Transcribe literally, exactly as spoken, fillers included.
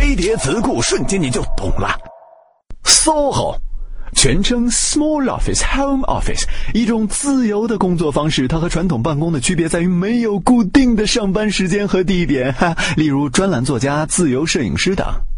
堆叠词库，瞬间你就懂了。S O H O全称 Small Office Home Office， 一种自由的工作方式。它和传统办公的区别在于没有固定的上班时间和地点，哈，例如专栏作家、自由摄影师等。